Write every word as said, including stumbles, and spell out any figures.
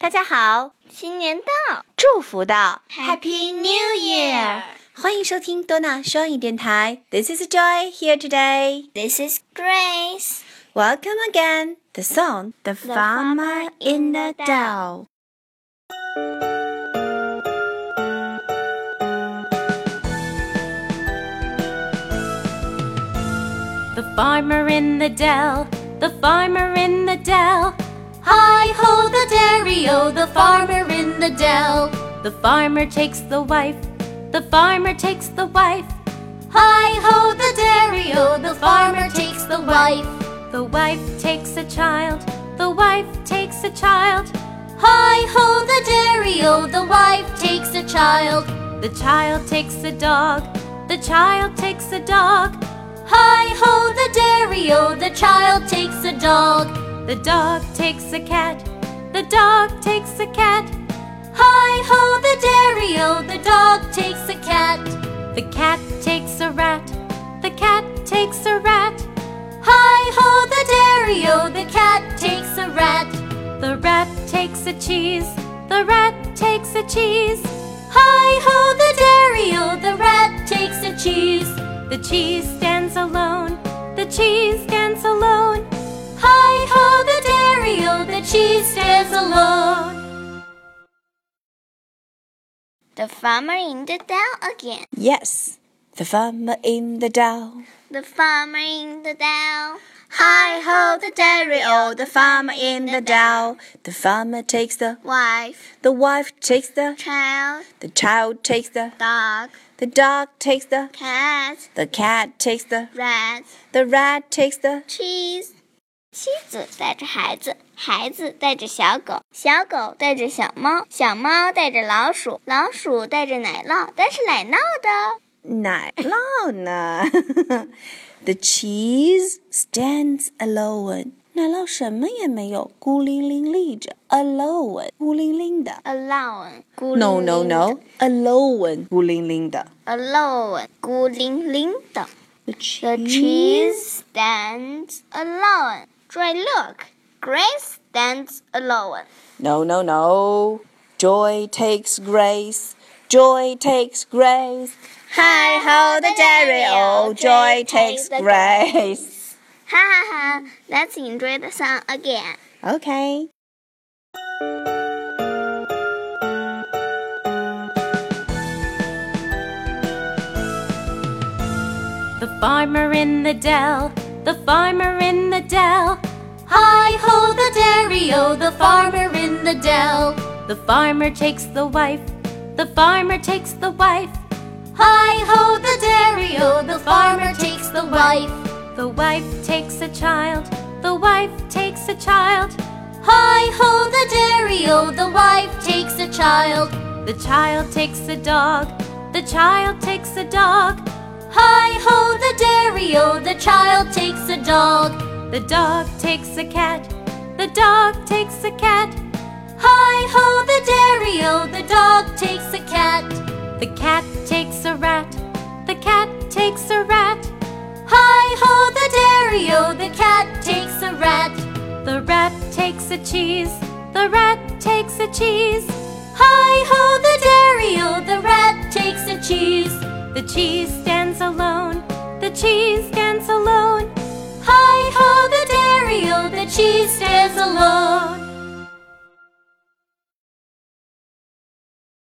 大家好， 新年到， 祝福到 Happy New Year！ 欢迎收听多纳双语电台 This is Joy here today. This is Grace. Welcome again. The song The, The Farmer in the Dell. The farmer in the dell, the farmer in the dell. Hi-ho the dairy-o, the farmer in the dell. The farmer takes the wife, the farmer takes the wife. Hi-ho the dairy-o, the farmer takes the wife. The wife takes a child, the wife takes a child. Hi-ho the dairy-o, the wife takes a child. The child takes a dog, the child takes a dog. Hi-ho the dairy-o, the child takes a dog. The dog takes a cat, the dog takes a cat. Hi-ho the dairy-o, the dog takes a cat. The cat takes a rat, the cat takes a rat. Hi-ho the dairy-o, the cat takes a rat. The rat takes a cheese, the rat takes a cheese. Hi-ho the dairy-o, the rat takes a cheese. The cheese stands alone, the cheese stands alone. Hi-ho the dairy-o, the cheese stands alone. The farmer in the dell again. Yes, the farmer in the dell. The farmer in the dell. Hi-ho the dairy-o, the farmer in the dell. The farmer takes the Wife, The wife takes the child, The child takes the dog, The dog takes the cat, The cat takes the rat, The rat takes the cheese. 妻子带着孩子，孩子带着小狗，小狗带着小猫，小猫带着老鼠，老鼠带着奶酪，但是奶酪的奶酪呢？The cheese stands alone. 奶酪什么也没有，孤零零立着。Alone， 孤零零的。 alone， 孤 No 零 no 零的 no. Alone， 孤零零的。 alone， 孤零零的。 The The cheese. cheese stands alone. Joy, look. Grace stands alone. No no no. Joy takes grace. Joy takes grace. Hi ho the dairy-o. Joy takes grace. Ha ha ha. Let's enjoy the song again. Okay. The farmer in the dell, the farmer in the dell. Hi-ho the dairy-o, the farmer in the dell. The farmer takes the wife, the farmer takes the wife. Hi-ho the dairy-o, the farmer takes the wife. The wife takes a child, the wife takes a child. Hi-ho the dairy-o, the wife takes a child. The child takes a dog, the child takes a dog. Hi-ho the dairy-o, the child takes a dog. The dog takes a cat, the dog takes a cat. Hi-ho the dairy-o, the dog takes a cat. The cat takes a rat, the cat takes a rat. Hi-ho the dairy-o, the cat takes a rat. The rat takes a cheese, the rat takes a cheese. Hi-ho the dairy-o, the rat takes a cheese. The cheese stands alone, the cheese stands alone.